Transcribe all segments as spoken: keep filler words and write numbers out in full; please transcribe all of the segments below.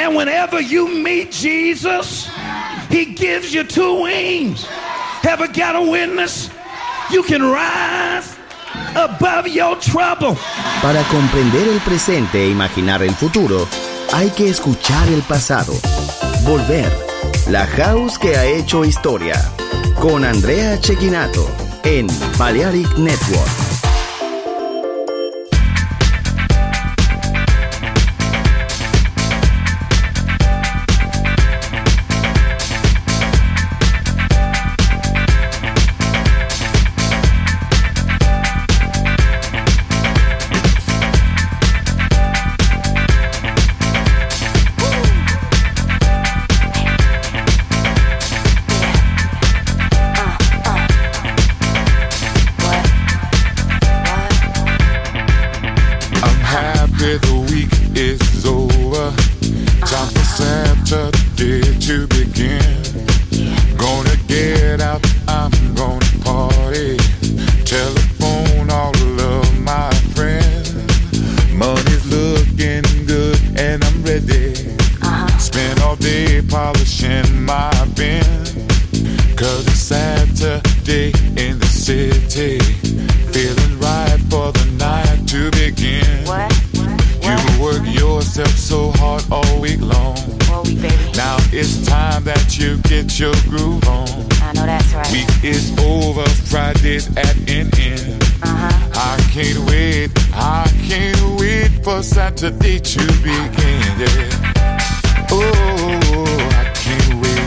And whenever you meet Jesus, he gives you two wings. Ever got a witness? You can rise above your trouble. Para comprender el presente e imaginar el futuro, hay que escuchar el pasado. Volver. La House que ha hecho historia. Con Andrea Cecchinato en Balearic Network. Saturday to begin, yeah. Oh, I can't wait.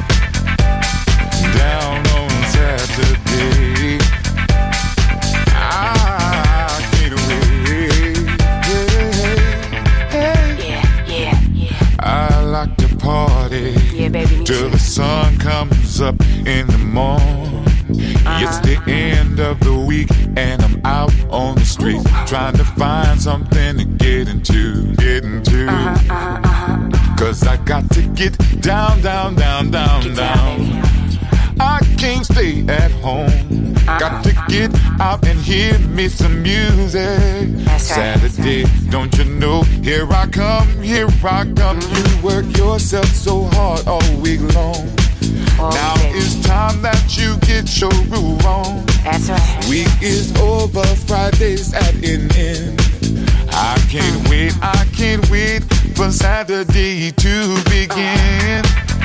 Down on Saturday, I can't wait. Yeah, yeah, yeah, yeah. I like to party, yeah, baby, till the sun comes up in the morning. Uh-huh. It's the end of the week and I'm out on the street trying to find something to get into, get into. Uh-huh, uh-huh, uh-huh. Cause I got to get down, down, down, down, get down. down I can't stay at home. Uh-huh. Got to get out and hear me some music. That's right. Saturday, don't you know? Here I come, here I come. You work yourself so hard all week long. Oh, now baby. It's time that you get your groove on. That's right. Week is over, Friday's at an end. I can't wait, I can't wait for Saturday to begin.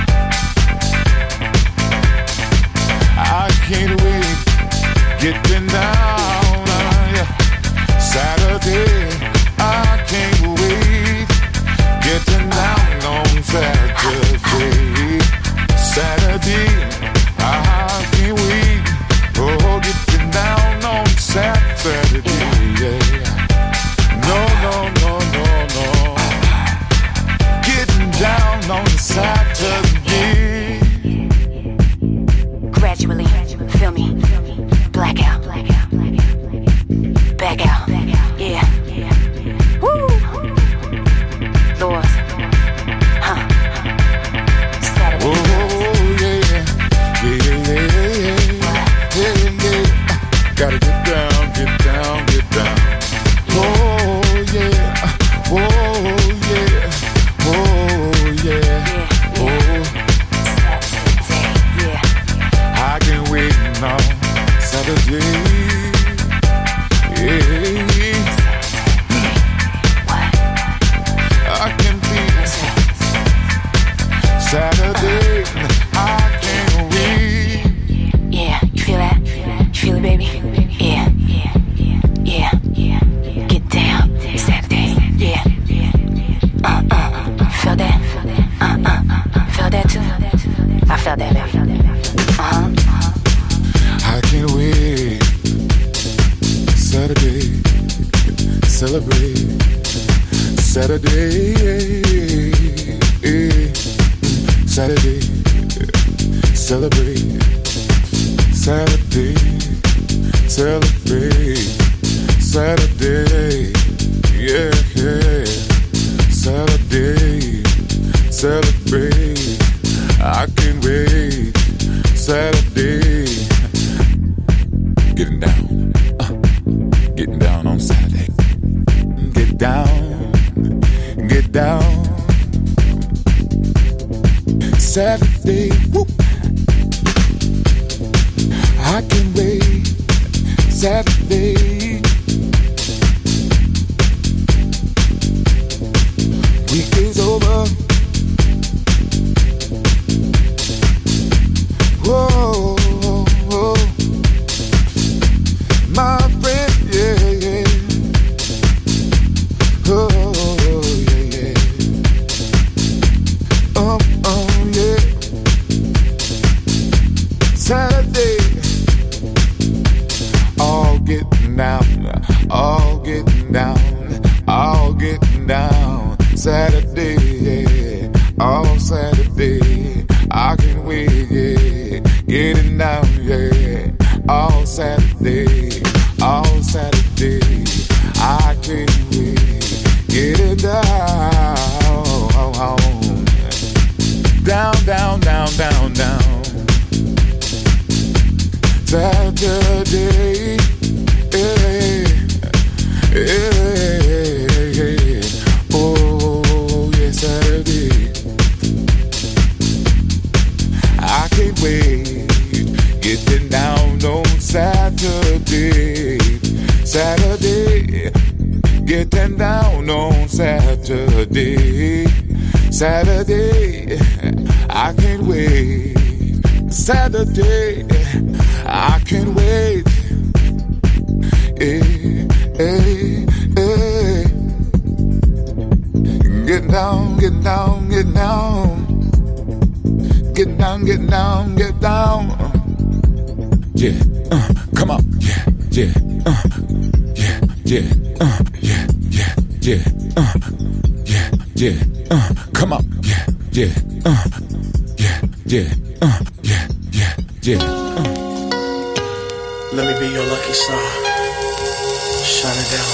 I can't wait, getting down, uh, yeah. Saturday, I can't wait, getting down on Saturday. Saturday, I can't wait, oh, getting down on Saturday, yeah. No, no, no, no, no, getting down on Saturday. Gradually, feel me, blackout, back out, yeah, woo, Lord, huh, Saturday. Whoa. Gotta get down, get down, get down. Oh yeah, oh yeah, oh yeah, oh. Saturday, yeah. I can't wait now, Saturday. Yeah. I can feel Saturday. I can't wait. Yeah, you feel that? You feel it, baby? Yeah, yeah, yeah, yeah. Get down, Saturday, yeah. Uh, uh, feel that? Uh, uh, feel that too? I felt that, baby. Uh-huh. I can't wait. Saturday, celebrate. Saturday, Saturday, celebrate. Saturday, celebrate. Saturday, yeah, yeah. Saturday, celebrate. I can't wait. Saturday, getting down, uh, getting down on Saturday. Get down, get down, Saturday, whoop. I can wait. Saturday. Weekend's over. Whoa, whoa. My friend, yeah, yeah. Oh, yeah, yeah. Um, um, yeah. Saturday. All getting down, all getting down, all getting down. Saturday, yeah, all Saturday. I can wait, yeah, getting down, yeah, all Saturday, all Saturday. I can wait, getting down, down, down, down, down, down. Saturday, yeah, yeah, yeah. Oh, yeah, Saturday. I can't wait, getting down on Saturday, Saturday, getting down on Saturday, Saturday. I can't wait, Saturday. I can't wait. Hey, hey, hey. Get down, get down, get down. Get down, get down, get down. Yeah, uh, come on. Yeah, yeah, uh, yeah, yeah, uh, yeah, yeah, yeah, uh, yeah, yeah, uh, come on. Yeah, yeah, uh, yeah, yeah, uh, yeah, yeah, yeah. Uh. Let me be your lucky star. Shine it down.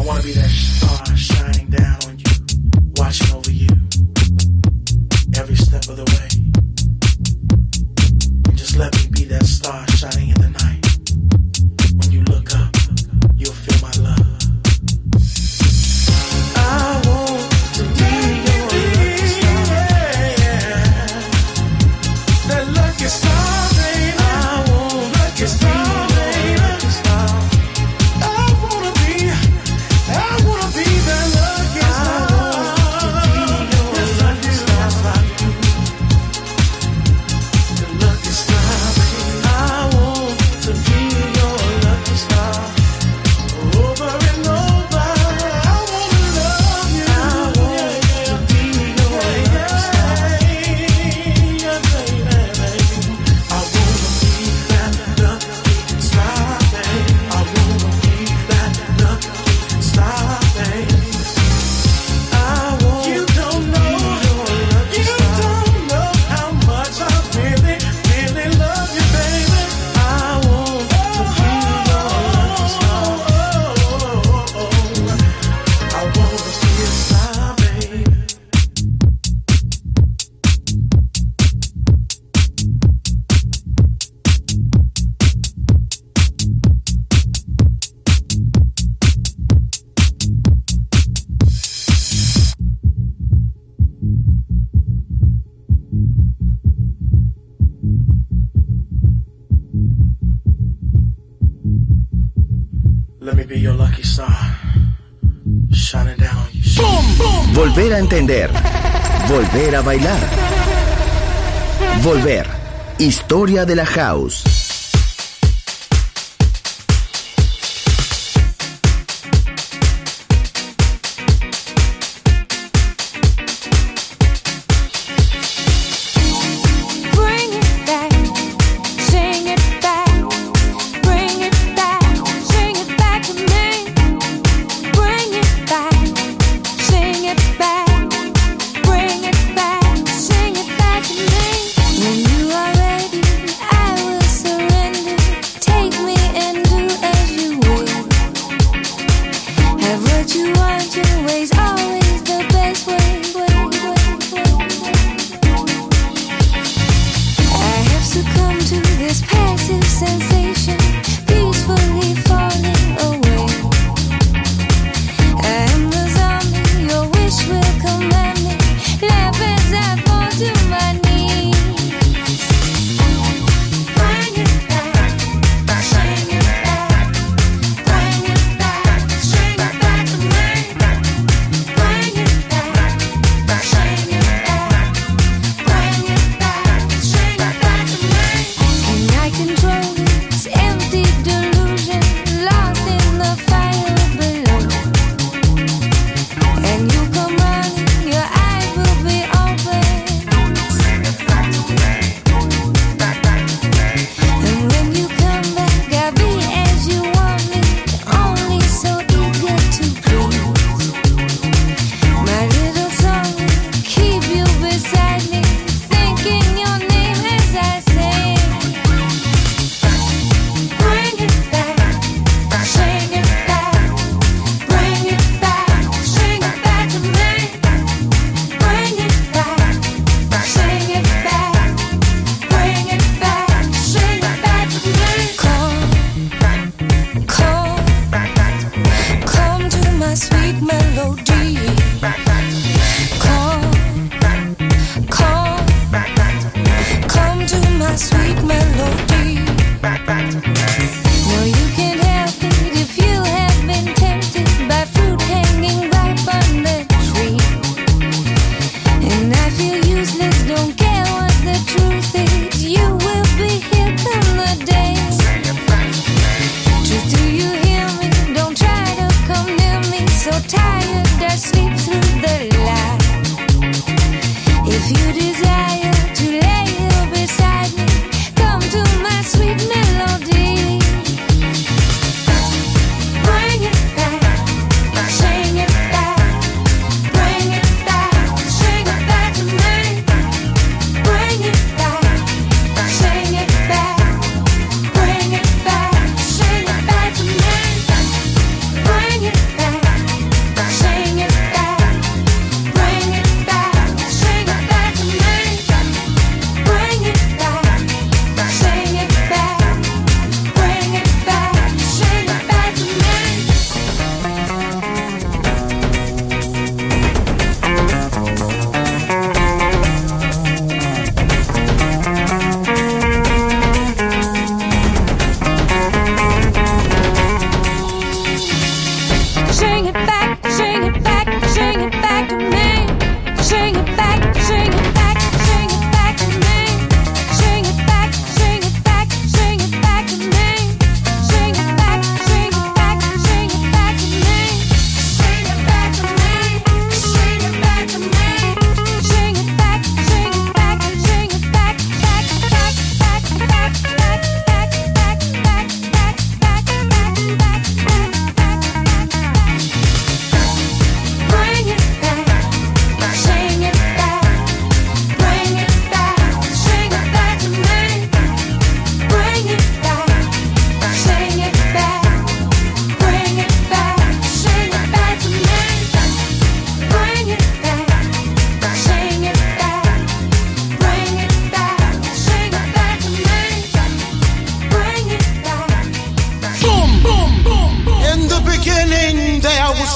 wanna be that star shining down on you, watching over you every step of the way. And just let me be that star shining in the night. When you look up, you'll feel my love. I want to be your lucky star. That lucky star, baby. I want lucky star. Volver a entender. Volver a bailar. Volver. Historia de la House.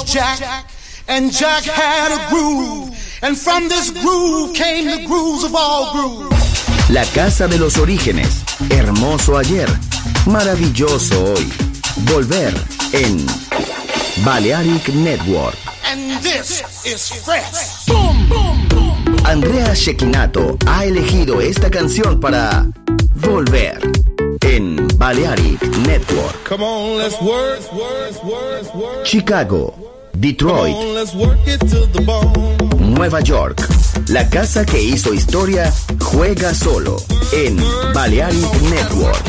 Jack, and Jack had a groove, and from this groove came the grooves of all grooves. La casa de los orígenes, hermoso ayer, maravilloso hoy. Volver en Balearic Network. And this is fresh. Boom, boom, boom. Andrea Cecchinato ha elegido esta canción para Volver en Balearic Network. Come on, let's work, work, work, work. Chicago, Detroit, Come on, let's work it to the bone. Nueva York. La casa que hizo historia juega solo en Balearic Network.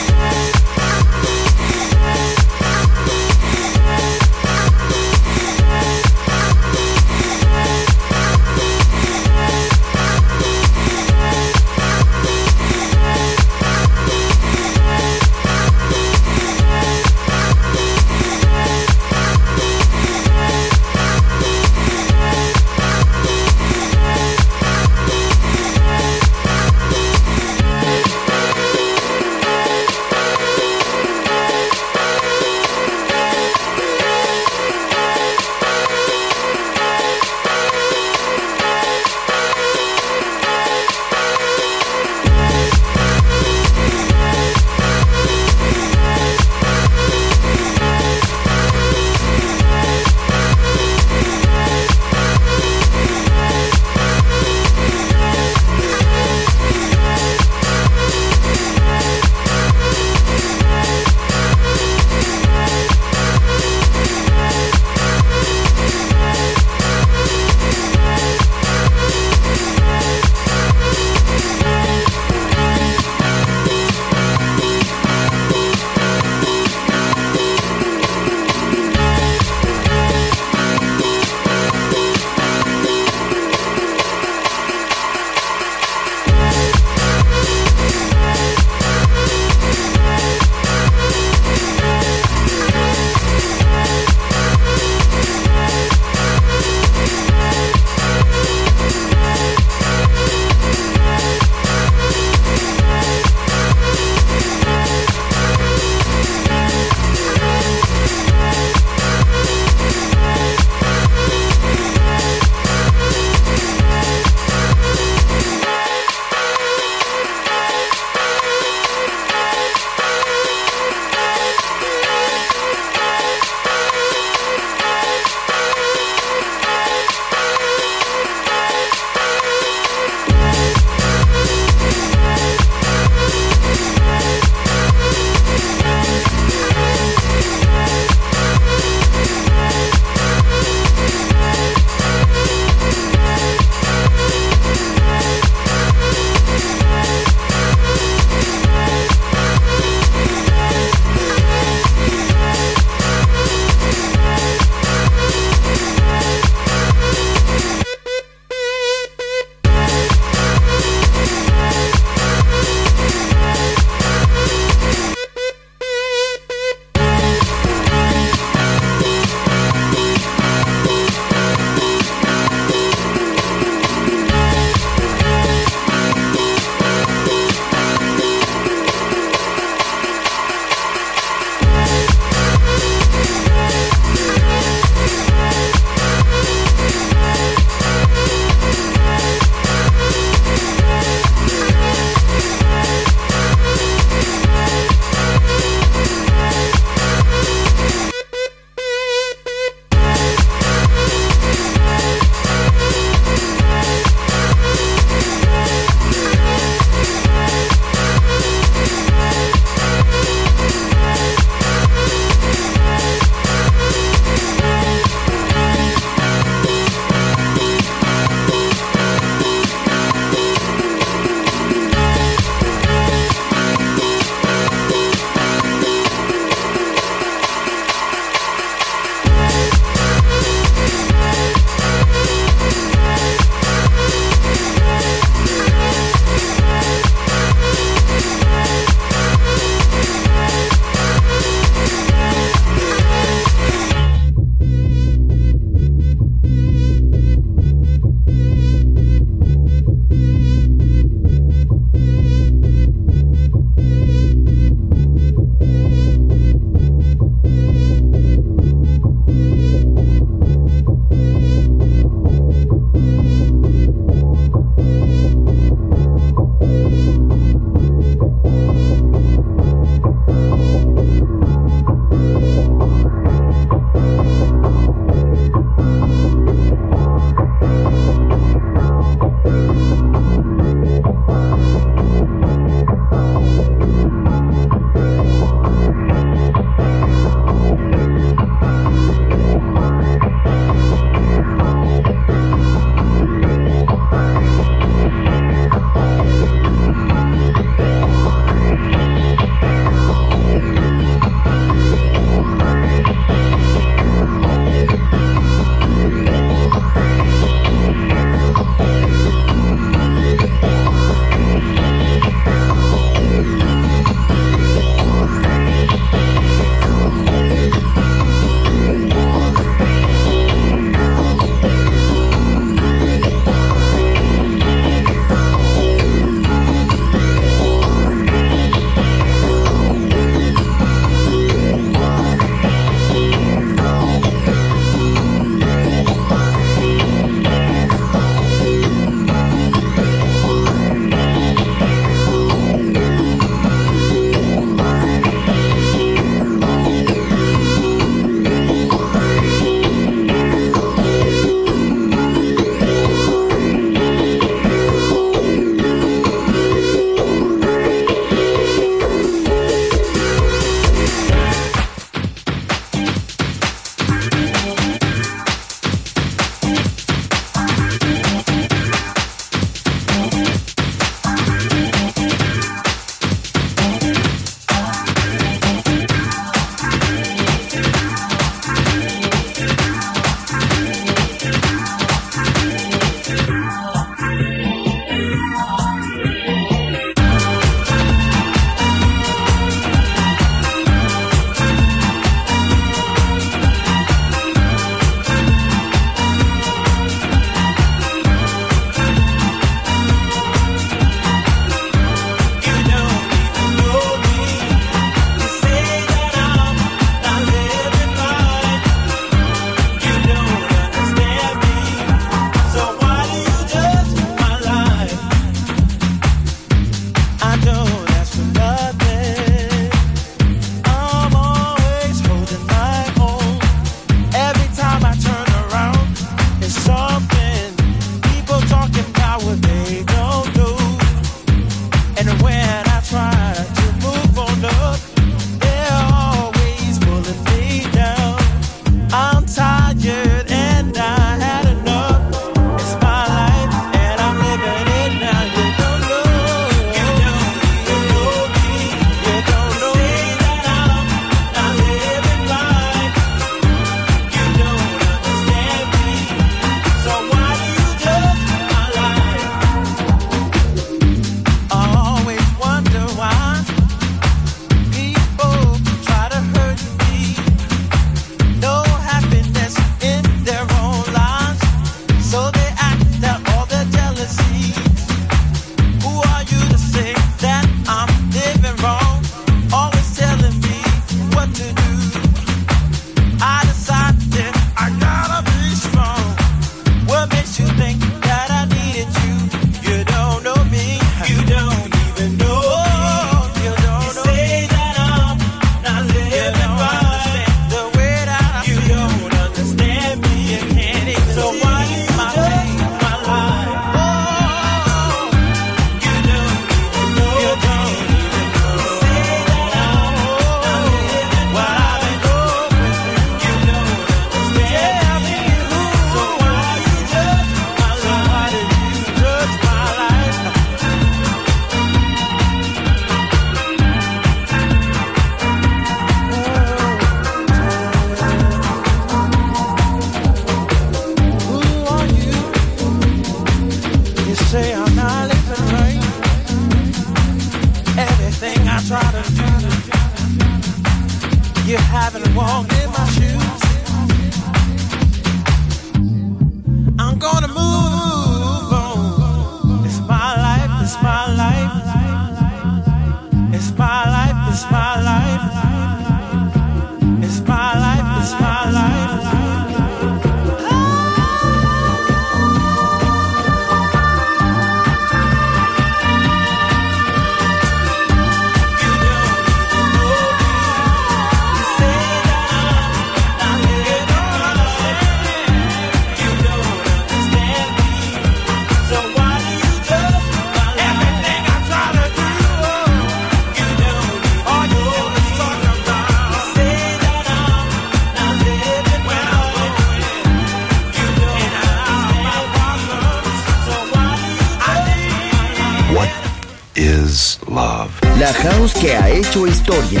La house que ha hecho historia.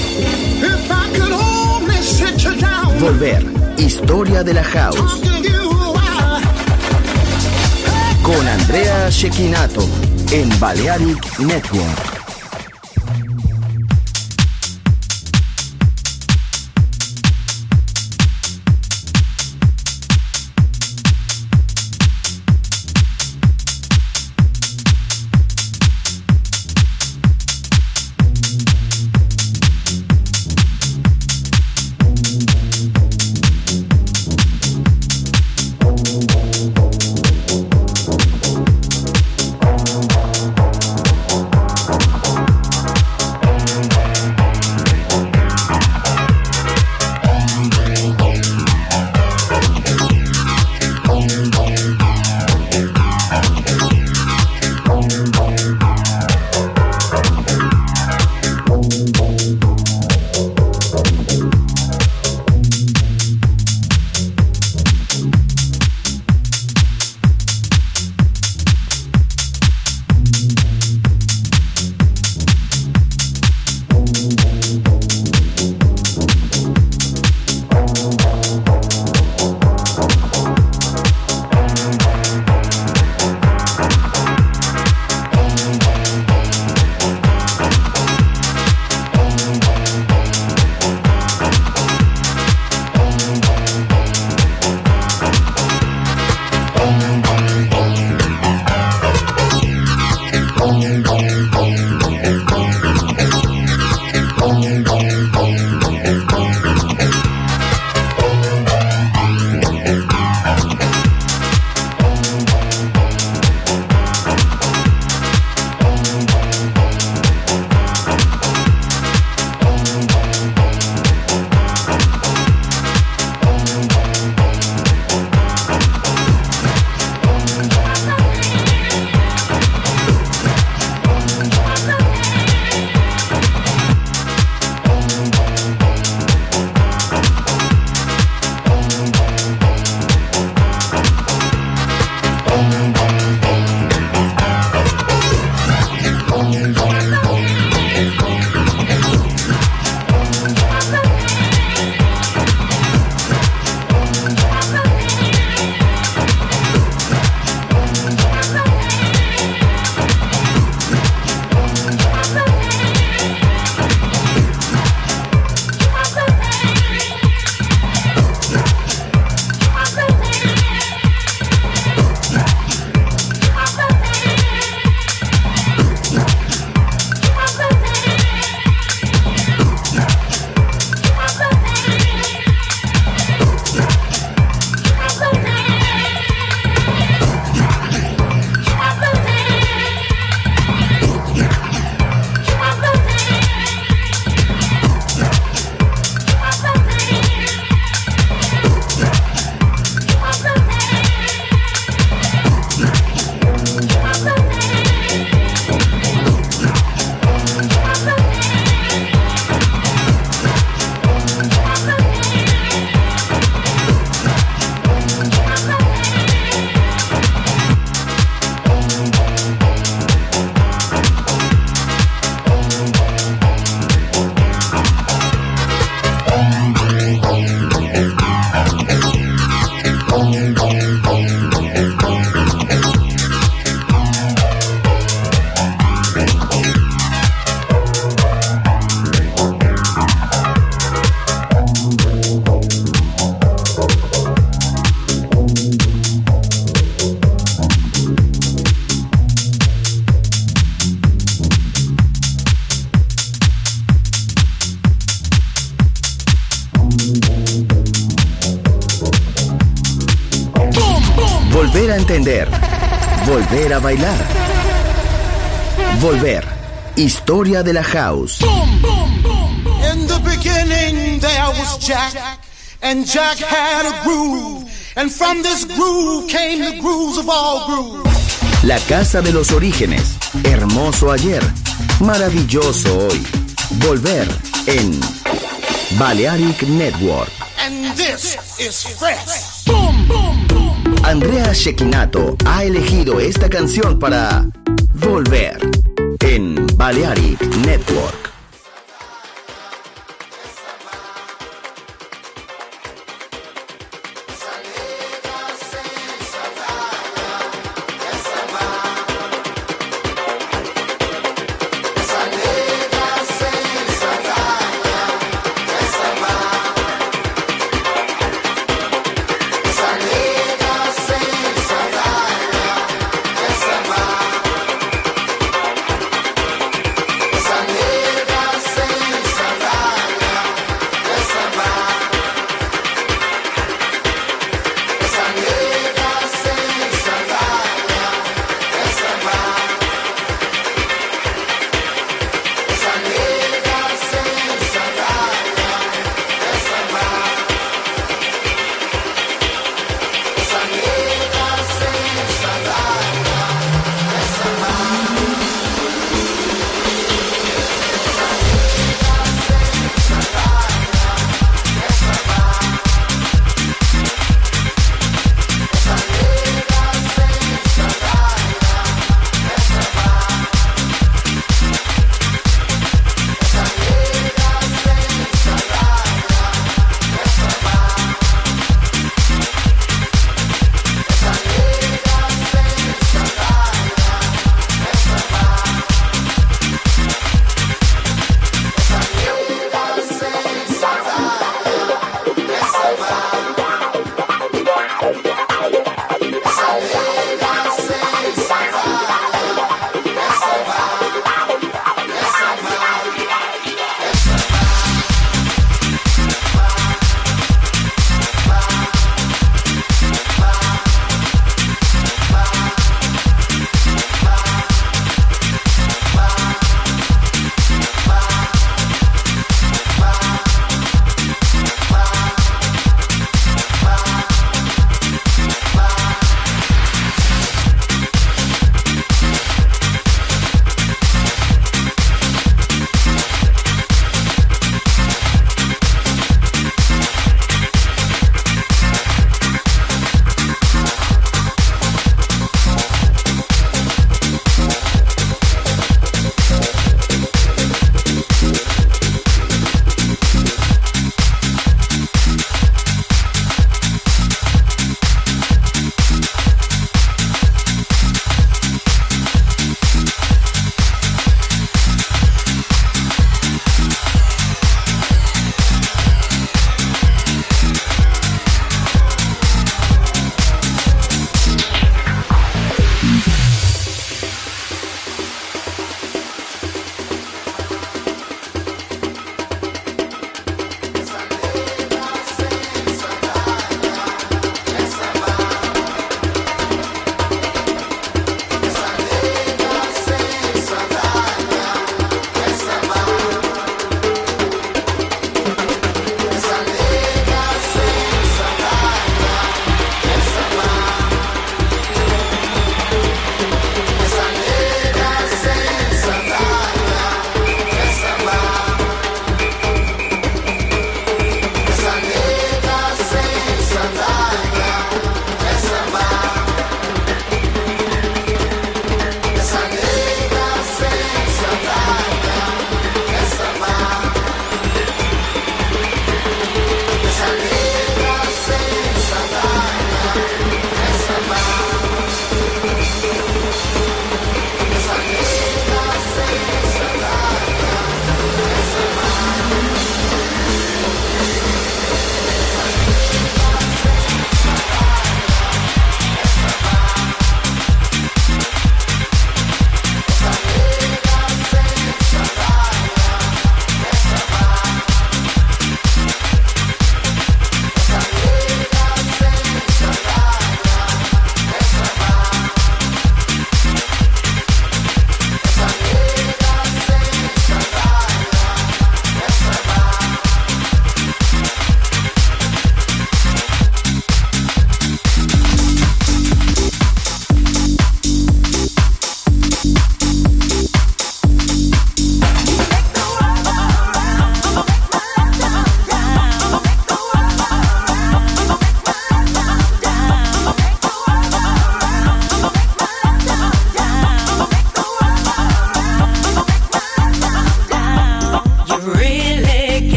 Volver, historia de la house. Con Andrea Cecchinato en Balearic Network. Volver a entender. Volver a bailar. Volver. Historia de la house. In the beginning there was Jack, and Jack had a groove, and from this groove came the grooves of all grooves. La casa de los orígenes. Hermoso ayer. Maravilloso hoy. Volver en Balearic Network. And this is fresh. Boom, boom, boom. Andrea Cecchinato ha elegido esta canción para volver en Balearic Network. Esa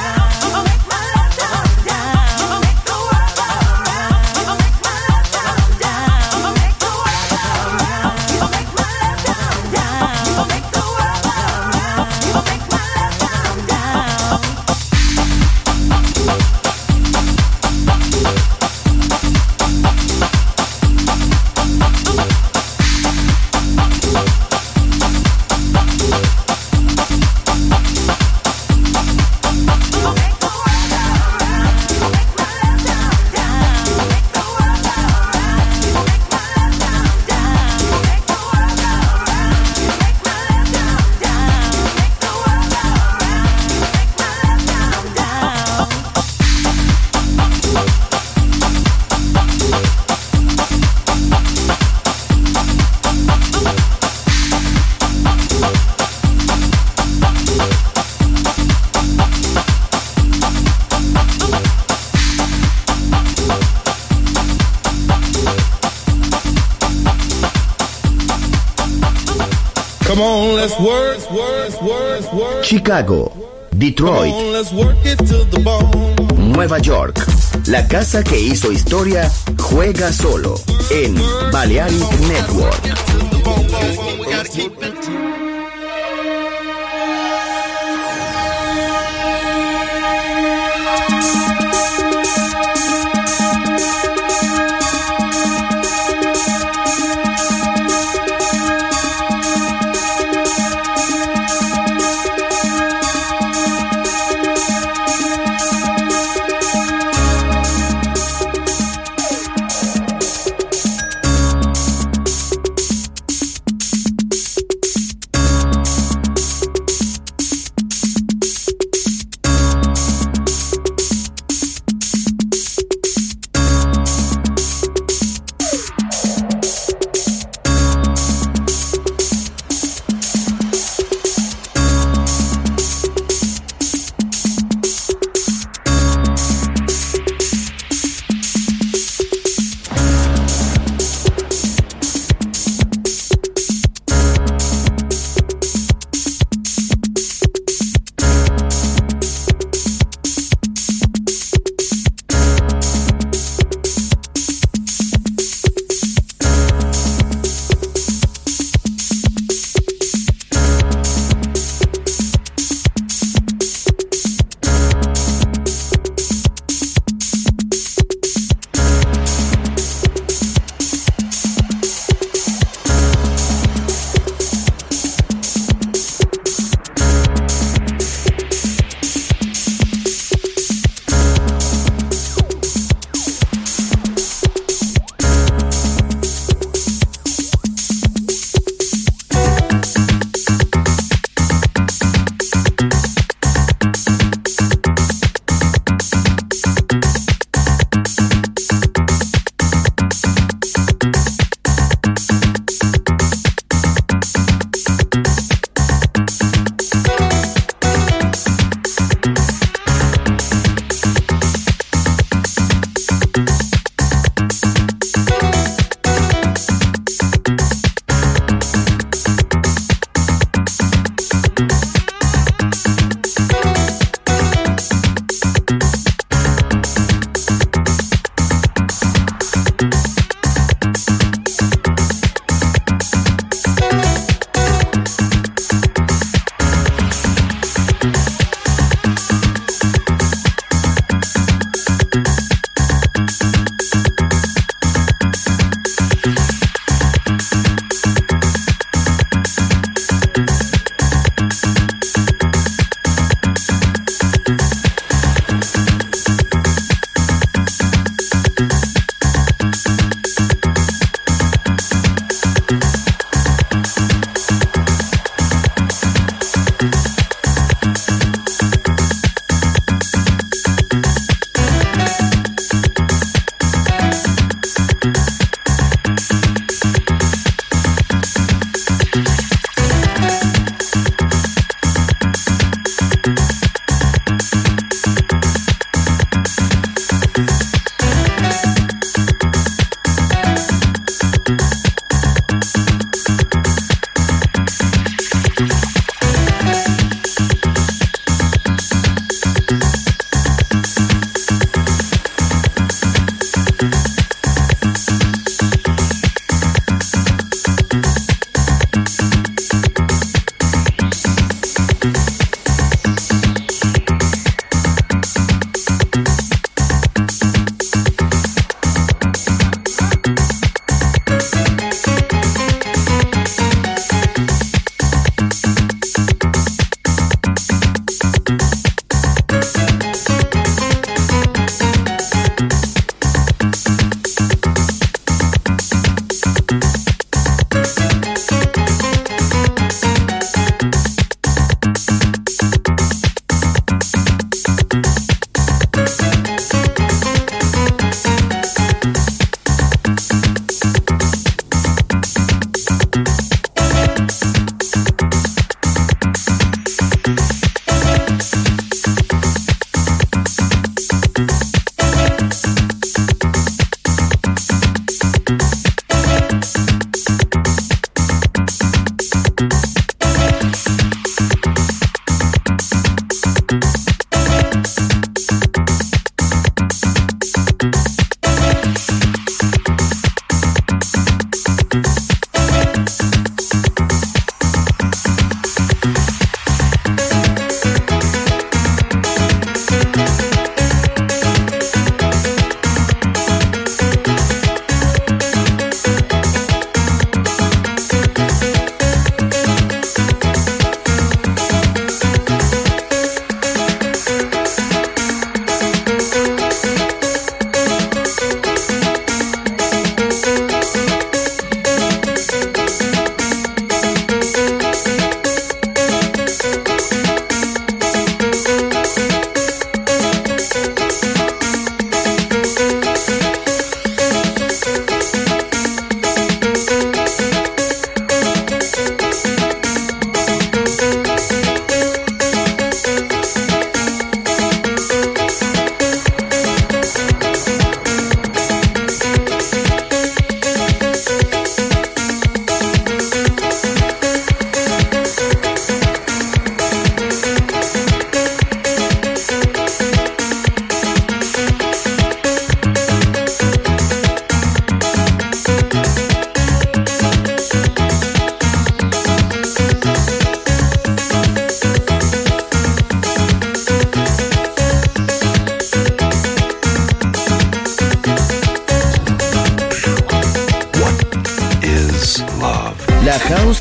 Come on, let's work, work, work, work. Chicago, Detroit, Come on, let's work it to the bone. Nueva York. La casa que hizo historia juega solo en Balearic Network.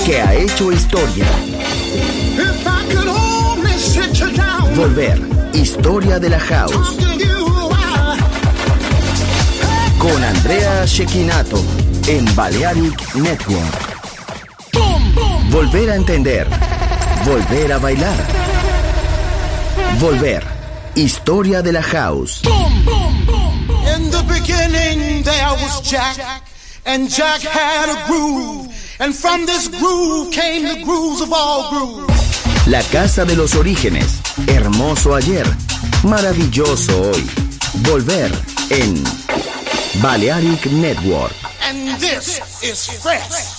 que ha hecho historia. Volver, historia de la house. Con Andrea Cecchinato en Balearic Network. Volver a entender. Volver a bailar. Volver, historia de la house. In the beginning there was Jack, and Jack had a groove, and from this groove came the grooves of all grooves. La casa de los orígenes, hermoso ayer, maravilloso hoy. Volver en Balearic Network. And this is fresh.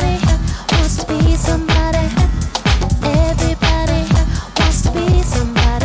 Somebody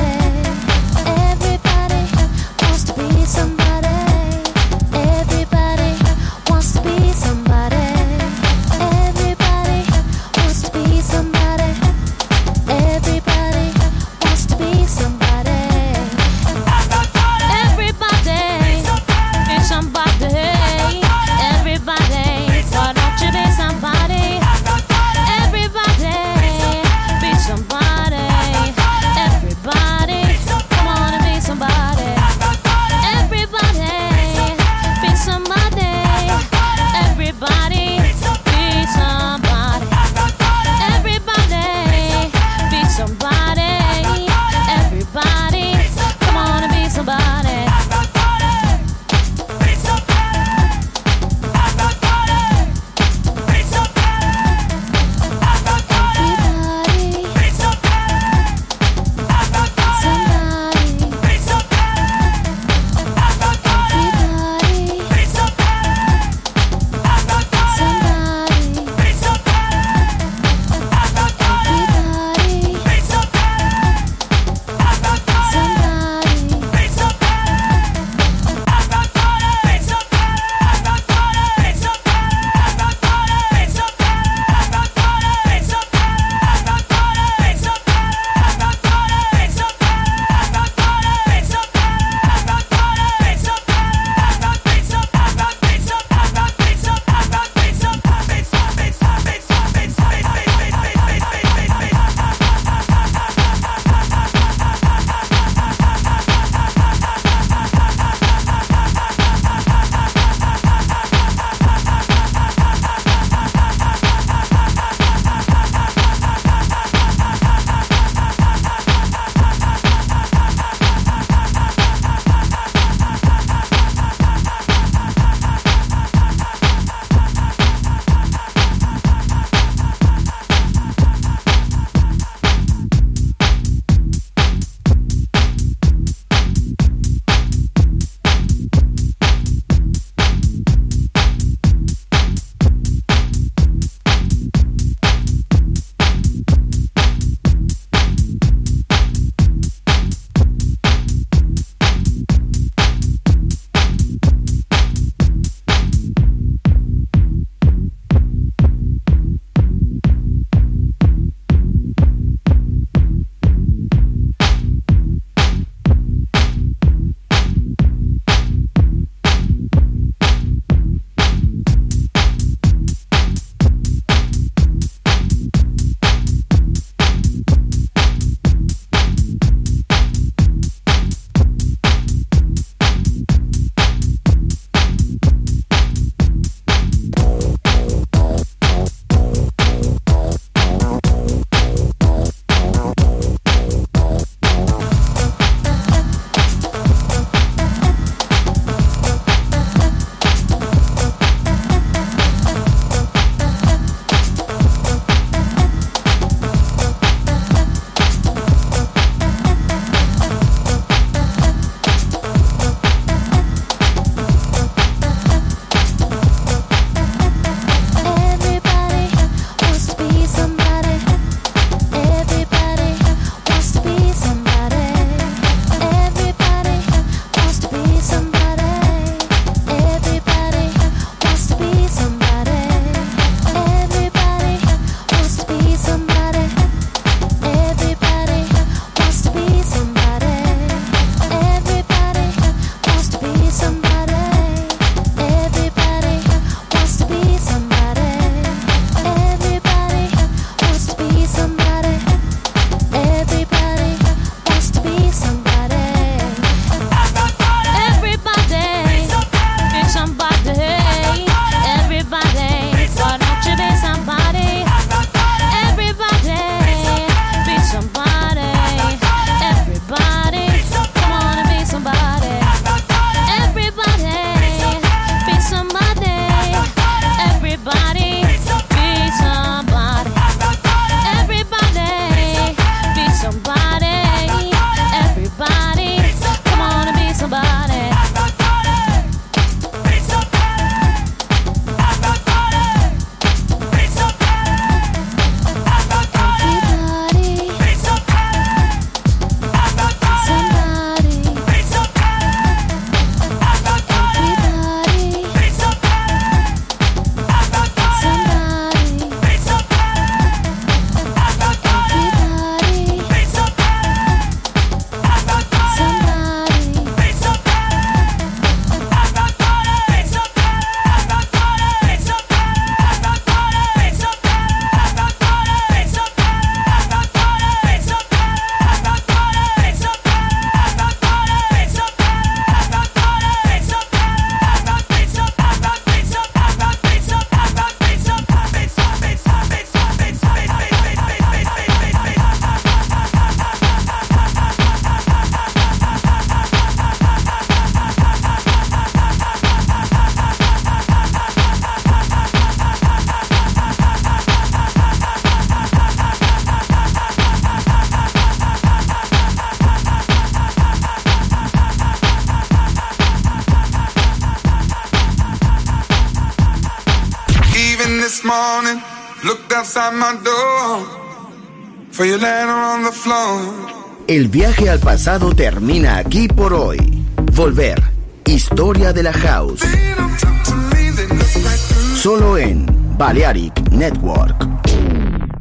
this morning, looked outside my door for your letter on the floor. El viaje al pasado termina aquí por hoy. Volver. Historia de la House. Solo en Balearic Network.